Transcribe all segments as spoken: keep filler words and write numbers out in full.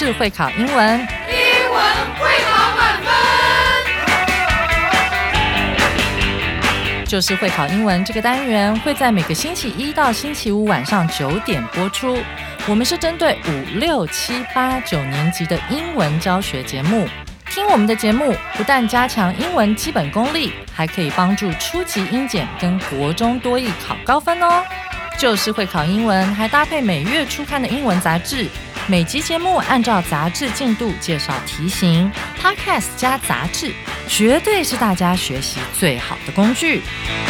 就是会考英文， 英文会考满分。 就是会考英文这个单元会在每个星期一到星期五晚上九点播出。我们是针对五六七八九年级的英文教学节目。听我们的节目不但加强英文基本功力，还可以帮助初级英检跟国中多益考高分哦。就是会考英文还搭配每月初刊的英文杂志，每集节目按照杂志进度介绍题型， Podcast 加杂志绝对是大家学习最好的工具。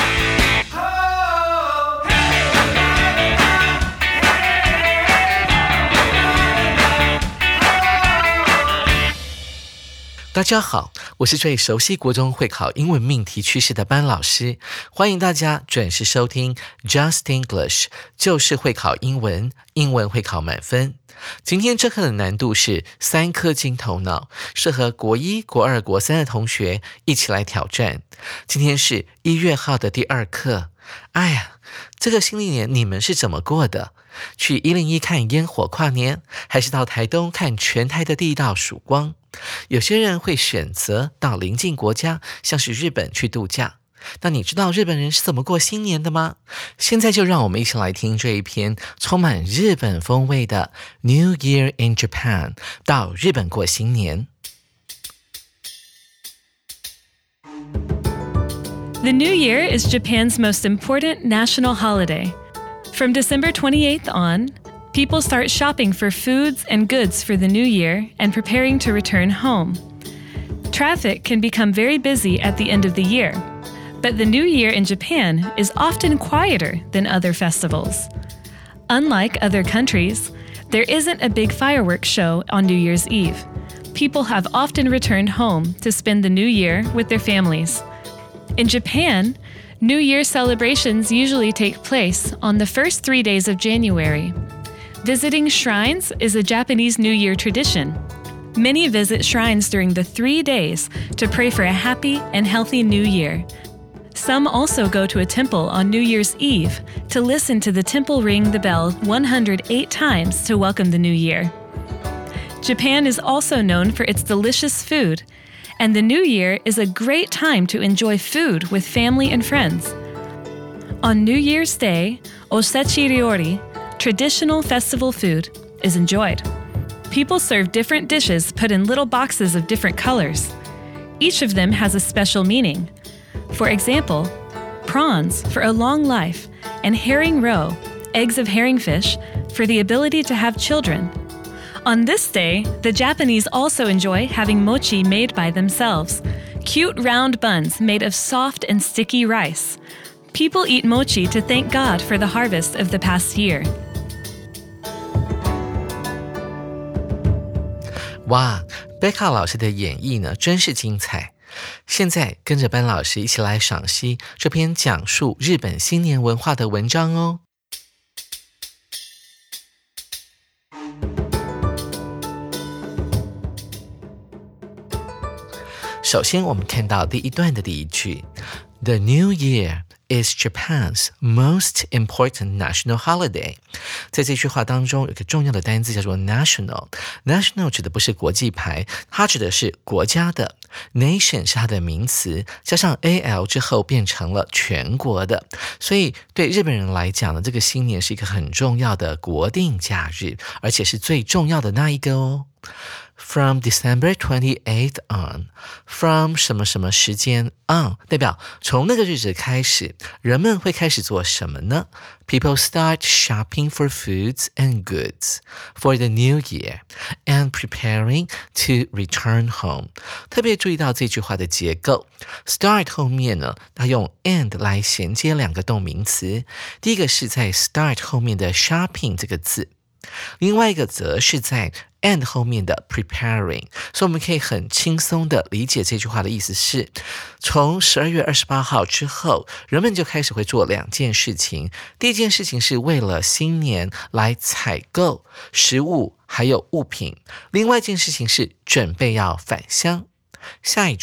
大家好，我是最熟悉国中会考英文命题趋势的班老师，欢迎大家准时收听 Just English， 就是会考英文，英文会考满分。今天这课的难度是三颗金头脑，适合国一、国二、国三的同学一起来挑战。今天是一月号的第二课。哎呀，这个新历年你们是怎么过的？去一零一看烟火跨年，还是到台东看全台的第一道曙光？有些人会选择到邻近国家，像是日本去度假。那你知道日本人是怎么过新年的吗？现在就让我们一起来听这一篇充满日本风味的 New Year in Japan， 到日本过新年。 The New Year is Japan's most important national holiday. From December twenty-eighth on, people start shopping for foods and goods for the new year and preparing to return home. Traffic can become very busy at the end of the year, but the New Year in Japan is often quieter than other festivals. Unlike other countries, there isn't a big fireworks show on New Year's Eve. People have often returned home to spend the new year with their families. In Japan, New Year celebrations usually take place on the first three days of January. Visiting shrines is a Japanese New Year tradition. Many visit shrines during the three days to pray for a happy and healthy new year. Some also go to a temple on New Year's Eve to listen to the temple ring the bell one hundred eight times to welcome the new year. Japan is also known for its delicious food, and the new year is a great time to enjoy food with family and friends. On New Year's Day, osechi ryori, traditional festival food, is enjoyed. People serve different dishes put in little boxes of different colors. Each of them has a special meaning. For example, prawns for a long life, and herring roe, eggs of herringfish, for the ability to have children. On this day, the Japanese also enjoy having mochi made by themselves, cute round buns made of soft and sticky rice. People eat mochi to thank God for the harvest of the past year. 哇，贝卡老师的演绎呢，真是精彩。现在跟着班老师一起来赏析这篇讲述日本新年文化的文章哦。首先我们看到第一段的第一句 The New Year is Japan's most important national holiday. 在这句话当中有一个重要的单字叫做 national. National 指的不是国际牌，它指的是国家的。Nation 是它的名词，加上 al 之后变成了全国的。所以对日本人来讲呢，这个新年是一个很重要的国定假日，而且是最重要的那一个哦。From December twenty-eighth on, from 什么什么时间 on 代表从那个日子开始，人们会开始做什么呢？ People start shopping for foods and goods for the new year and preparing to return home. 特别注意到这句话的结构 Start 后面呢，它用 and 来衔接两个动名词，第一个是在 start 后面的 shopping 这个字，另外一个则是在 and 后面的 preparing， 所以我们可以很轻松的理解这句话的意思是，从十二月二十八号之后，人们就开始会做两件事情。第一件事情是为了新年来采购食物还有物品，另外一件事情是准备要返乡。下一句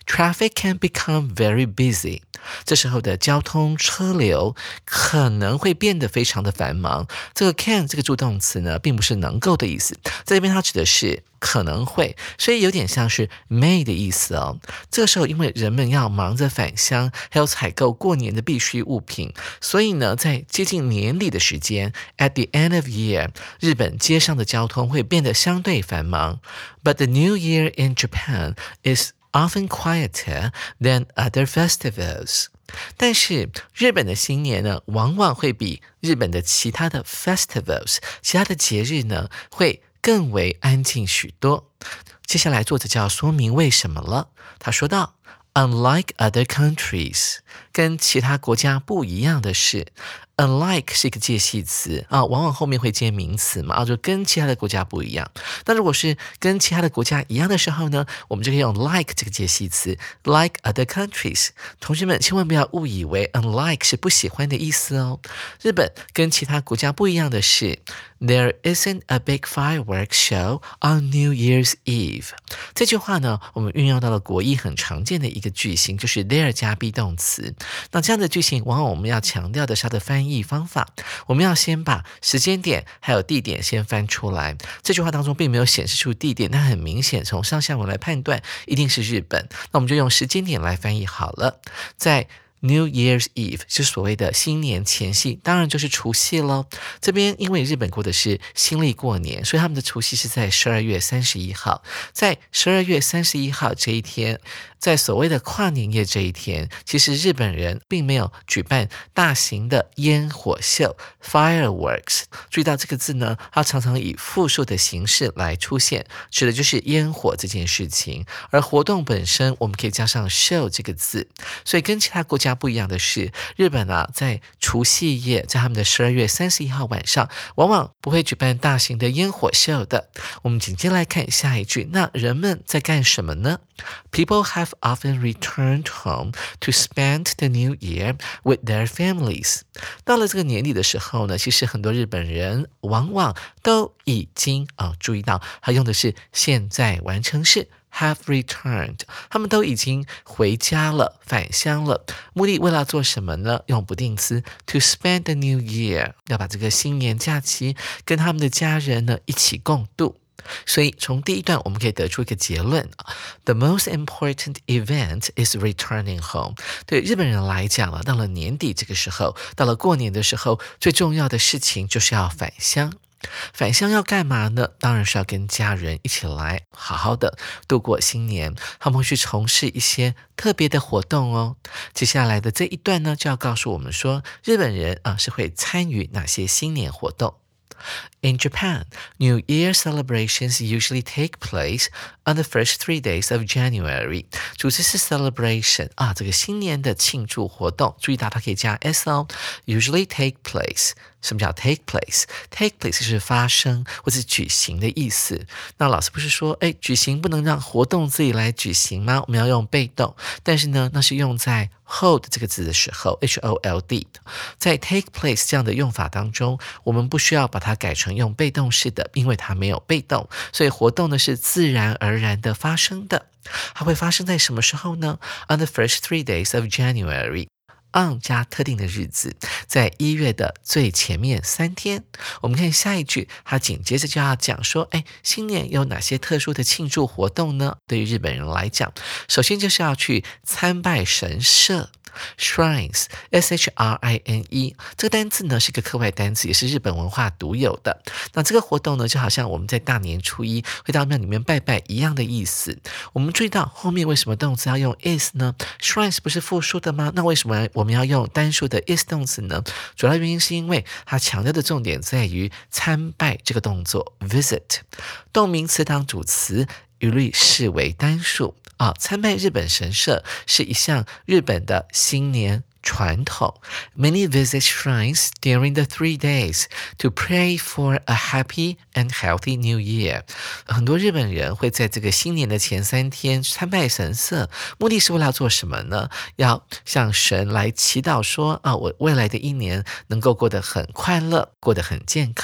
traffic can become very busy. 这时候的交通车流可能会变得非常的繁忙。这个 can 这个助动词呢，并不是能够的意思，在这边它指的是可能会，所以有点像是 may 的意思哦。这个时候因为人们要忙着返乡，还有采购过年的必需物品，所以呢，在接近年底的时间 at the end of year， 日本街上的交通会变得相对繁忙。But the New Year in Japan is often quieter than other festivals. 但是日本的新年呢，往往会比日本的其他的 festivals 其他的节日呢，会更为安静许多。接下来作者就要说明为什么了。他说道 Unlike other countries， 跟其他国家不一样的是，unlike 是一个介系词啊，往往后面会接名词嘛，啊，就跟其他的国家不一样。那如果是跟其他的国家一样的时候呢，我们就可以用 like 这个介系词 ，like other countries。同学们千万不要误以为 unlike 是不喜欢的意思哦。日本跟其他国家不一样的是 ，There isn't a big fireworks show on New Year's Eve。这句话呢，我们运用到了国一很常见的一个句型，就是 there 加 be 动词。那这样的句型，往往我们要强调的是它的翻译方法，我们要先把时间点还有地点先翻出来。这句话当中并没有显示出地点，但很明显从上下文来判断一定是日本。那我们就用时间点来翻译好了。在New Year's Eve 是所谓的新年前夕，当然就是除夕咯。这边因为日本过的是新历过年，所以他们的除夕是在十二月三十一号。在十二月三十一号这一天，在所谓的跨年夜这一天，其实日本人并没有举办大型的烟火秀 fireworks。注意到这个字呢，它常常以复数的形式来出现，指的就是烟火这件事情。而活动本身我们可以加上 show 这个字，所以跟其他国家不一样的是，日本啊，在除夕夜，在他们的十二月三十一号晚上，往往不会举办大型的烟火秀的。我们紧接来看下一句，那人们在干什么呢？ People have often returned home to spend the new year with their families. 到了这个年底的时候呢，其实很多日本人往往都已经啊，注意到他用的是现在完成式have returned， 他们都已经回家了，返乡了。目的为了做什么呢？用不定词 to spend the new year， 要把这个新年假期跟他们的家人呢一起共度。所以从第一段我们可以得出一个结论 The most important event is returning home。 对日本人来讲了，到了年底这个时候，到了过年的时候，最重要的事情就是要返乡。返乡要干嘛呢？当然是要跟家人一起来好好的度过新年，他们会去从事一些特别的活动哦。接下来的这一段呢，就要告诉我们说，日本人啊是会参与哪些新年活动。In Japan, New Year celebrations usually take place on the first three days of January. 主词是 celebration 啊，这个新年的庆祝活动，注意到它可以加 s 哦。Usually take place， 什么叫 take place？ Take place 是发生或是举行的意思。那老师不是说，哎，举行不能让活动自己来举行吗？我们要用被动，但是呢，那是用在hold 这个字的时候 H O L D， 在 take place 这样的用法当中，我们不需要把它改成用被动式的，因为它没有被动，所以活动呢是自然而然的发生的。它会发生在什么时候呢？ On the first three days of January。on 加特定的日子，在一月的最前面三天。我们看下一句，它紧接着就要讲说，哎，新年有哪些特殊的庆祝活动呢？对于日本人来讲，首先就是要去参拜神社。Shrines S H R I N E 这个单字呢是个课外单词，也是日本文化独有的。那这个活动呢就好像我们在大年初一会到庙里面拜拜一样的意思。我们注意到后面为什么动词要用 is 呢？ Shrines 不是复数的吗？那为什么我们要用单数的 is 动词呢？主要原因是因为它强调的重点在于参拜这个动作 visit， 动名词当主词一律视为单数啊，参拜日本神社是一项日本的新年传统。Many visit shrines during the three days to pray for a happy and healthy new year。 很多日本人会在这个新年的前三天参拜神社，目的是为了要做什么呢？要向神来祈祷说啊，我未来的一年能够过得很快乐，过得很健康。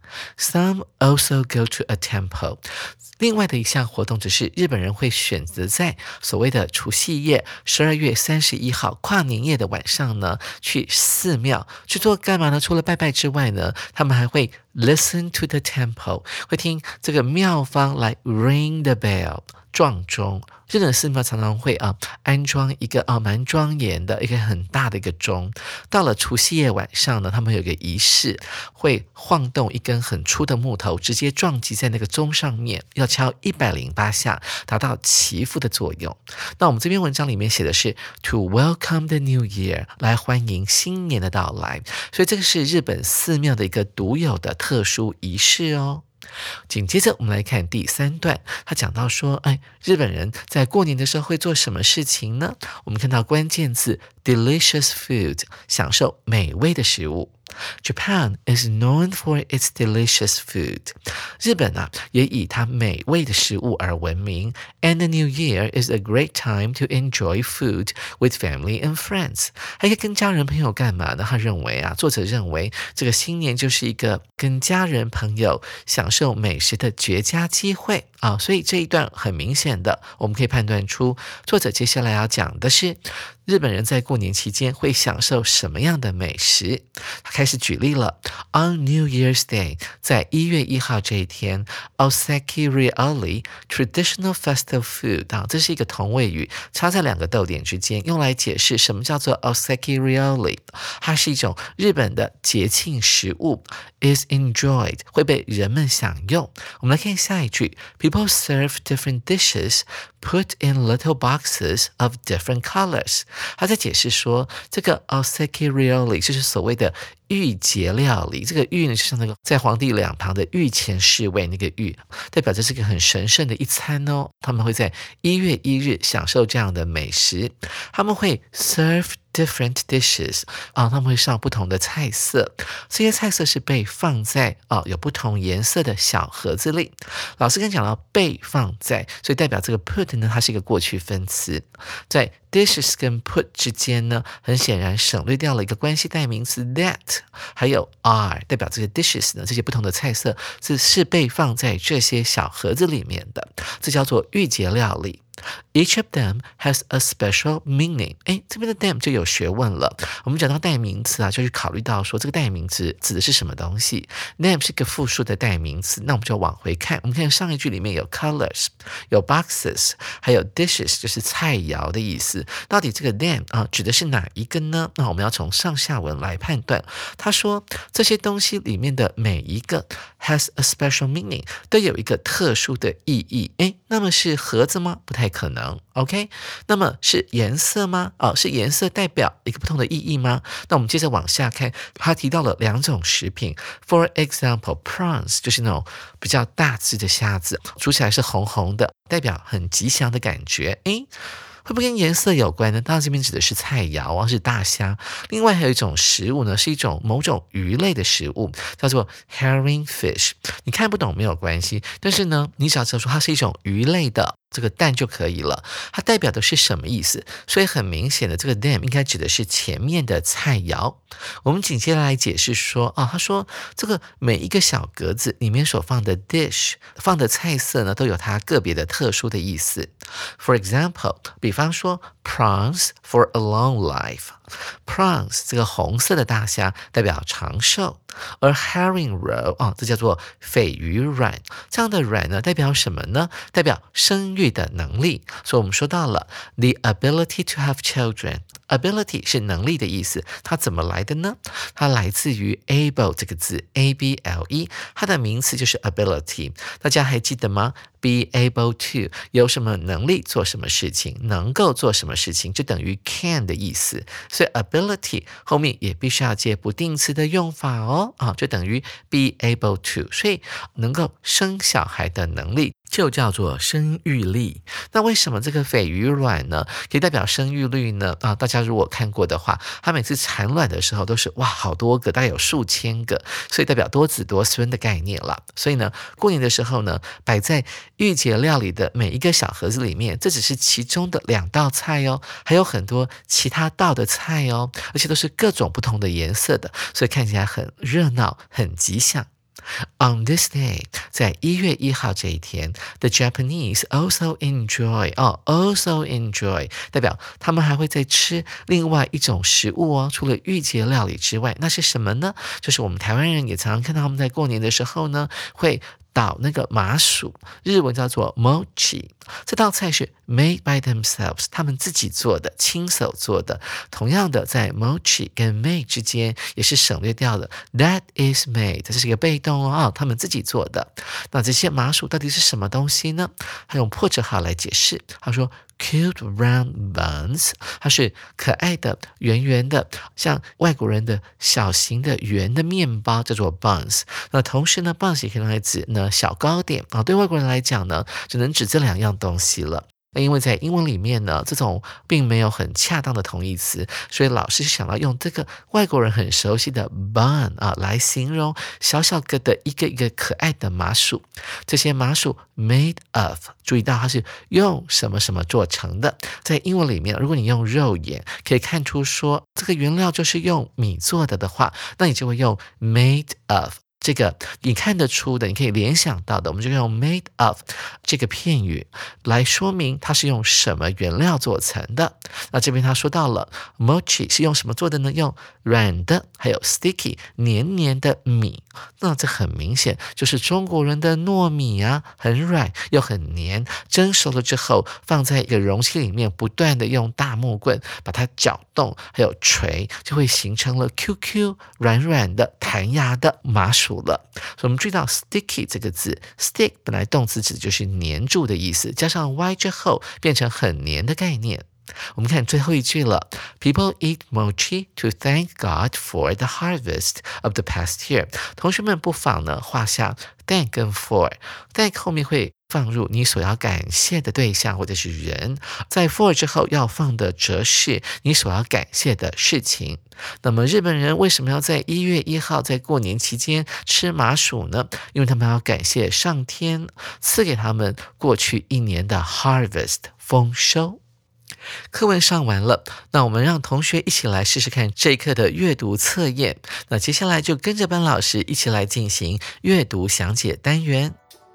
Some also go to a temple. 另外的一项活动只是日本人会选择在所谓的除夕夜十二月三十一号跨年夜的晚上呢，去寺庙去做干嘛呢？除了拜拜之外呢，他们还会 listen to the temple， 会听这个庙方来 ring the bell， 撞钟。日本寺庙常常会啊安装一个啊蛮庄严的一个很大的一个钟，到了除夕夜晚上呢，他们有一个仪式，会晃动一根很粗的木头，直接撞击在那个钟上面，要敲一百零八下，达到祈福的作用。那我们这篇文章里面写的是 to welcome the new year， 来欢迎新年的到来，所以这个是日本寺庙的一个独有的特殊仪式哦。紧接着我们来看第三段，他讲到说，哎，日本人在过年的时候会做什么事情呢？我们看到关键字 delicious food， 享受美味的食物。Japan is known for its delicious food. 日本啊，也以它美味的食物而闻名。And the new year is a great time to enjoy food with family and friends. 还可以跟家人朋友干嘛呢？他认为啊，作者认为这个新年就是一个跟家人朋友享受美食的绝佳机会啊。所以这一段很明显的，我们可以判断出作者接下来要讲的是日本人在过年期间会享受什么样的美食。他开始举例了 On New Year's Day， 在一月一号这一天 Oseki Ryori Traditional Festive Food， 啊，这是一个同位语，插在两个逗点之间，用来解释什么叫做 Oseki Ryori。 它是一种日本的节庆食物， is enjoyed， 会被人们享用。我们来看下一句， People serve different dishes put in little boxes of different colors。 他在解释说，这个 Oseki Ryori 就是所谓的御节料理。这个御呢，就像那个在皇帝两旁的御前侍卫那个御，代表这是个很神圣的一餐哦。他们会在一月一日享受这样的美食，他们会 serve different dishes， 啊，他们会上不同的菜色，这些菜色是被放在啊有不同颜色的小盒子里。老师刚讲到被放在，所以代表这个 put 呢，它是一个过去分词，在 dishes 跟 put 之间呢，很显然省略掉了一个关系代名词 that， 还有 are， 代表这个 dishes 呢，这些不同的菜色是是被放在这些小盒子里面的，这叫做御节料理。Each of them has a special meaning。 诶，这边的 them 就有学问了。我们讲到代名词啊，就去考虑到说这个代名词指的是什么东西。 them 是个复数的代名词，那我们就往回看。我们看上一句里面有 colors， 有 boxes， 还有 dishes， 就是菜肴的意思。到底这个 them 啊指的是哪一个呢？那我们要从上下文来判断。他说这些东西里面的每一个 has a special meaning， 都有一个特殊的意义。诶，那么是盒子吗？不太可能。 OK， 那么是颜色吗？哦，是颜色代表一个不同的意义吗？那我们接着往下看，他提到了两种食品。 For example， prawns 就是那种比较大只的虾子，煮起来是红红的，代表很吉祥的感觉。诶，会不会跟颜色有关呢？当然这边指的是菜肴啊，是大虾。另外还有一种食物呢，是一种某种鱼类的食物，叫做 herring fish。 你看不懂没有关系，但是呢，你只要知道说它是一种鱼类的这个蛋就可以了。它代表的是什么意思？所以很明显的，这个 them 应该指的是前面的菜肴。我们紧接着来解释说，啊，他说这个每一个小格子里面所放的 dish 放的菜色呢，都有它个别的特殊的意思。For example， 比方说 prawns for a long life。prawns 这个红色的大虾代表长寿，而 herring roe 啊，这叫做鲱鱼卵。这样的卵呢，代表什么呢？代表生育的能力。所以我们说到了 the ability to have children。ability 是能力的意思，它怎么来的呢？它来自于 able 这个字 A B L E， 它的名词就是 ability。 大家还记得吗？ be able to 有什么能力做什么事情，能够做什么事情，就等于 can 的意思。所以 ability 后面也必须要接不定词的用法哦，啊，就等于 be able to。 所以能够生小孩的能力就叫做生育力。那为什么这个鲱鱼卵呢可以代表生育率呢？啊，大家如果看过的话，它每次产卵的时候都是哇好多个，大概有数千个，所以代表多子多孙的概念了。所以呢，过年的时候呢，摆在御节料理的每一个小盒子里面，这只是其中的两道菜哦，还有很多其他道的菜哦，而且都是各种不同的颜色的，所以看起来很热闹，很吉祥。 On this day, 在一月一号这一天 the Japanese also enjoy, 哦 also enjoy 代表他们还会再吃另外一种食物哦，除了御节料理之外，那是什么呢？就是我们台湾人也常常看到他们在过年的时候呢，会捣那个麻薯，日文叫做 mochi。 这道菜是 made by themselves， 他们自己做的，亲手做的。同样的，在 mochi 跟 made 之间也是省略掉的 that is made， 这是一个被动哦，他们自己做的。那这些麻薯到底是什么东西呢？他用破折号来解释，他说cute round buns， 它是可爱的圆圆的，像外国人的小型的圆的面包，叫做 buns。 那同时呢 buns 也可以用来指呢小糕点啊，对外国人来讲呢，只能指这两样东西了。那因为在英文里面呢，这种并没有很恰当的同义词，所以老师想要用这个外国人很熟悉的 bun 啊来形容小小个的一个一个可爱的麻薯。这些麻薯 made of， 注意到它是用什么什么做成的。在英文里面，如果你用肉眼可以看出说这个原料就是用米做的的话，那你就会用 made of。这个你看得出的，你可以联想到的，我们就用 made of 这个片语来说明它是用什么原料做成的。那这边他说到了 mochi 是用什么做的呢？用软的还有 sticky 黏黏的米。那这很明显就是中国人的糯米啊，很软又很黏，蒸熟了之后放在一个容器里面，不断的用大木棍把它搅动还有捶，就会形成了 Q Q 软软的弹牙的麻薯了。所以我们注意到 sticky 这个字， stick 本来动词指的就是黏住的意思，加上 y 之后变成很黏的概念。我们看最后一句了 People eat mochi to thank God for the harvest of the past year。 同学们不妨呢画下 thank 跟 for， thank 后面会放入你所要感谢的对象或者是人，在 for 之后要放的则是你所要感谢的事情。那么日本人为什么要在一月一号在过年期间吃麻薯呢？因为他们要感谢上天赐给他们过去一年的 harvest 丰收。课文上完了，那我们让同学一起来试试看这一课的阅读测验。那接下来就跟着班老师一起来进行阅读详解单元。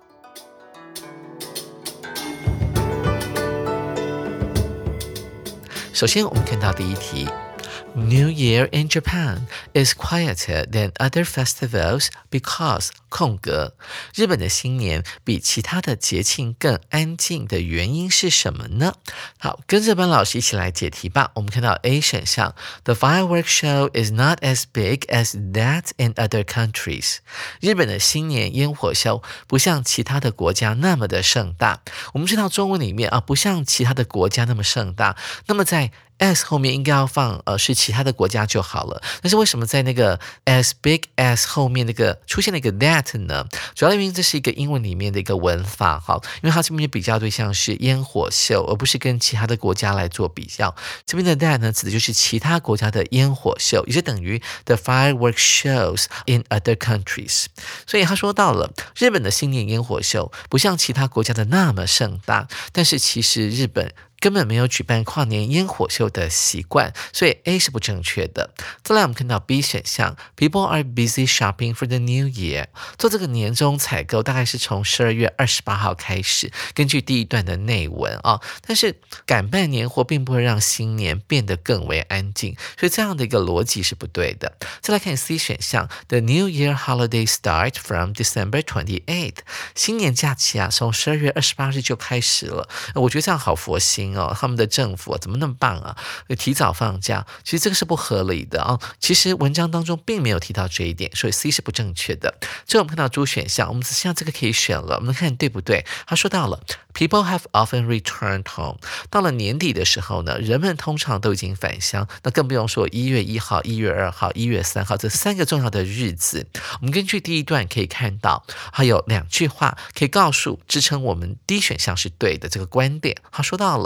首先我们看到第一题， New Year in Japan is quieter than other festivals because 空格，日本的新年比其他的节庆更安静的原因是什么呢？好，跟着班老师一起来解题吧。我们看到 A 选项 The fireworks show is not as big as that in other countries。 日本的新年烟火秀不像其他的国家那么的盛大。我们知道中文里面啊，不像其他的国家那么盛大，那么在as 后面应该要放呃是其他的国家就好了，但是为什么在那个 as big as 后面那个出现了一个 that 呢？主要原因这是一个英文里面的一个文法哈，因为它这边的比较对象是烟火秀，而不是跟其他的国家来做比较。这边的 that 呢，指的就是其他国家的烟火秀，也就等于 the fireworks shows in other countries。所以他说到了日本的新年烟火秀不像其他国家的那么盛大，但是其实日本根本没有举办跨年烟火秀的习惯，所以 A 是不正确的。再来我们看到 B 选项 People are busy shopping for the new year。 做这个年终采购大概是从十二月二十八号开始，根据第一段的内文啊，但是赶办年货并不会让新年变得更为安静，所以这样的一个逻辑是不对的。再来看 C 选项 The new year holiday start from December twenty-eighth。 新年假期啊从十二月二十八日就开始了，我觉得这样好佛心哦，他们的政府、啊、怎么那么棒啊，提早放假，其实这个是不合理的啊。其实文章当中并没有提到这一点，所以 C 是不正确的。最后我们看到 D 选项，我们只剩下这个可以选了，我们看对不对。他说到了 People have often returned home。 到了年底的时候呢，人们通常都已经返乡，那更不用说一月一号、一月二号、一月三号这三个重要的日子。我们根据第一段可以看到，还有两句话可以告诉支撑我们 D 选项是对的这个观点。他说到了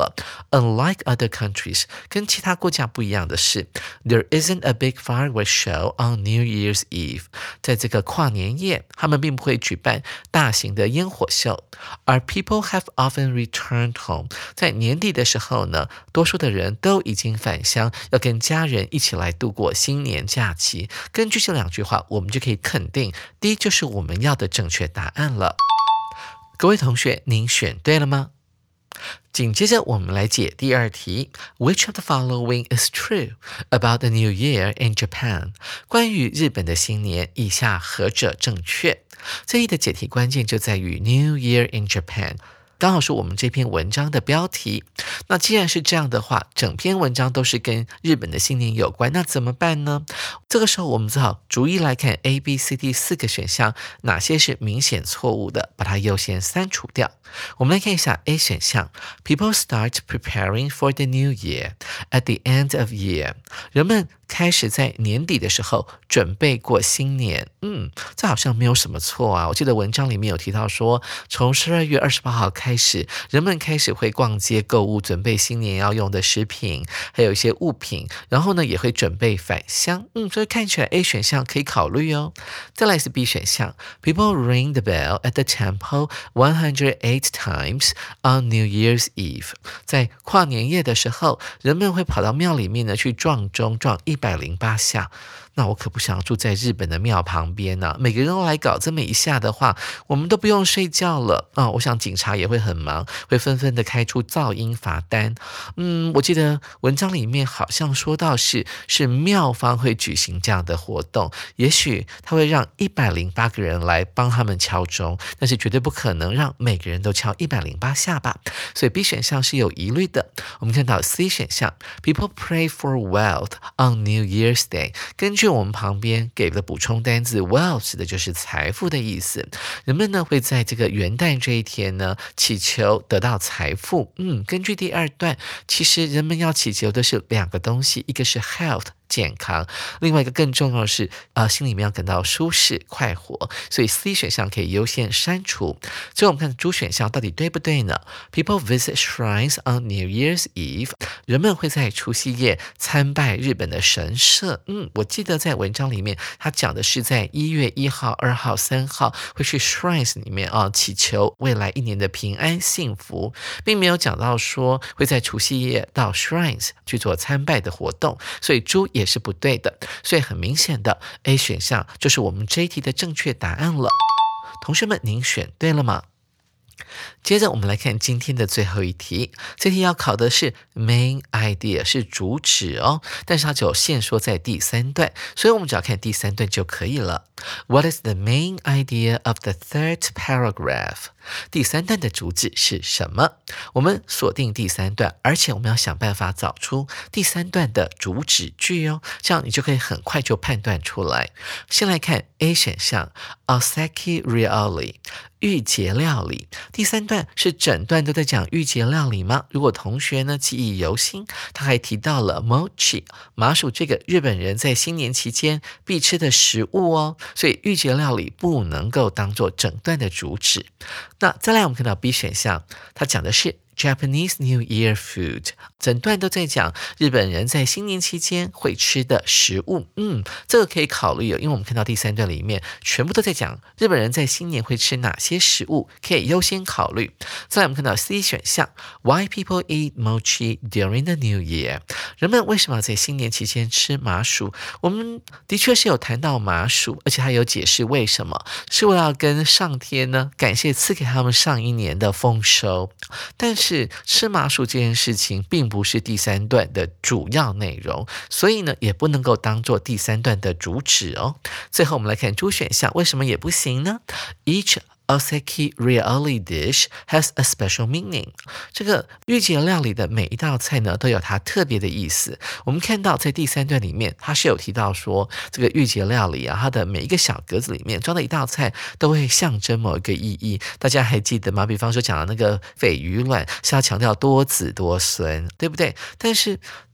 了。Unlike other countries， 跟其他国家不一样的是 There isn't a big fireworks show on New Year's Eve。 在这个跨年夜，他们并不会举办大型的烟火秀。而 people have often returned home， 在年底的时候呢，多数的人都已经返乡，要跟家人一起来度过新年假期。根据这两句话，我们就可以肯定，第一就是我们要的正确答案了。各位同学，您选对了吗？紧接着我们来解第二题 Which of the following is true about the New Year in Japan？ 关于日本的新年，以下何者正确？这一的解题关键就在于 New Year in Japan，刚好是我们这篇文章的标题。那既然是这样的话，整篇文章都是跟日本的新年有关，那怎么办呢？这个时候我们只好逐一来看 A B C D 四个选项，哪些是明显错误的，把它优先删除掉。我们来看一下 A 选项 People start preparing for the new year at the end of year， 人们开始在年底的时候准备过新年。嗯，这好像没有什么错啊。我记得文章里面有提到说，从十二月二十八号开始，人们开始会逛街购物，准备新年要用的食品，还有一些物品，然后呢也会准备返乡。嗯，所以看起来 A 选项可以考虑哦。再来是 B 选项 People ring the bell at the temple one hundred eight times on New Year's Eve， 在跨年夜的时候，人们会跑到庙里面呢去撞钟，撞一百零八下。那我可不想住在日本的庙旁边啊，每个人都来搞这么一下的话，我们都不用睡觉了啊！我想警察也会很忙，会纷纷的开出噪音罚单。嗯，我记得文章里面好像说到是是庙方会举行这样的活动，也许他会让一百零八个人来帮他们敲钟，但是绝对不可能让每个人都敲一百零八下吧。所以 B 选项是有疑虑的。我们看到 C 选项 People pray for wealth on New Year's Day， 根据我们旁边给的补充单字 wealth 指的就是财富的意思。人们呢会在这个元旦这一天呢祈求得到财富。嗯，根据第二段，其实人们要祈求的是两个东西，一个是 health健康，另外一个更重要的是呃，心里面要感到舒适快活，所以 C 选项可以优先删除。最后我们看主选项到底对不对呢？ People visit shrines on New Year's Eve， 人们会在除夕夜参拜日本的神社。嗯，我记得在文章里面他讲的是在一月一号、二号、三号会去 shrines 里面啊祈求未来一年的平安幸福，并没有讲到说会在除夕夜到 shrines 去做参拜的活动，所以猪也是不对的。所以很明显的 A 选项就是我们这一题的正确答案了。同学们，您选对了吗？接着我们来看今天的最后一题，这题要考的是 main idea， 是主旨哦，但是它只有限缩在第三段，所以我们只要看第三段就可以了。What is the main idea of the third paragraph？ 第三段的主旨是什么？我们锁定第三段，而且我们要想办法找出第三段的主旨句哦，这样你就可以很快就判断出来。先来看 A 选项 Osaki Ryori， 御节料理。第三段是整段都在讲御节料理吗？如果同学呢记忆犹新，他还提到了 mochi 麻薯，这个日本人在新年期间必吃的食物哦，所以御节料理不能够当做整段的主旨。那再来我们看到 B 选项，它讲的是Japanese New Year food， 整段都在讲日本人在新年期间会吃的食物。嗯，这个可以考虑哦，因为我们看到第三段里面全部都在讲日本人在新年会吃哪些食物，可以优先考虑。再来我们看到 C 选项 Why people eat mochi during the New Year， 人们为什么要在新年期间吃麻薯？我们的确是有谈到麻薯，而且还有解释为什么，是为了跟上天呢感谢赐给他们上一年的丰收。但是是吃麻薯这件事情并不是第三段的主要内容，所以呢也不能够当做第三段的主旨哦。最后我们来看主选项为什么也不行呢？ Each Osaki Ryori dish has a special meaning， 这个御节料理的每一道菜呢都有它特别的意思。我们看到在第三段里面它是有提到说这个御节料理啊，它的每一个小格子里面装的一道菜都会象征某一个意义，大家还记得吗？比方说讲的那个鲱鱼卵是要强调多子多孙，对不对？但是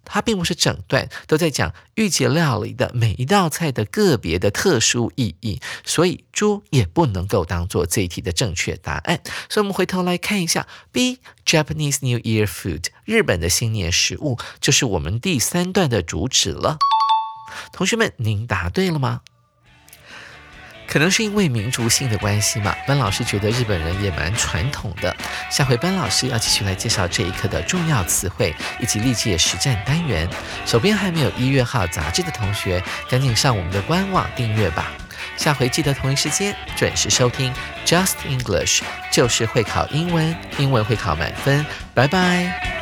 它并不是整段都在讲御节料理的每一道菜的个别的特殊意义，所以猪也不能够当做这一题的正确答案。所以我们回头来看一下 B Japanese New Year Food 日本的新年食物，就是我们第三段的主旨了。同学们，您答对了吗？可能是因为民族性的关系嘛，班老师觉得日本人也蛮传统的。下回班老师要继续来介绍这一课的重要词汇以及历届实战单元。手边还没有一月号杂志的同学，赶紧上我们的官网订阅吧。下回记得同一时间准时收听 Just English， 就是会考英文，英文会考满分。拜拜。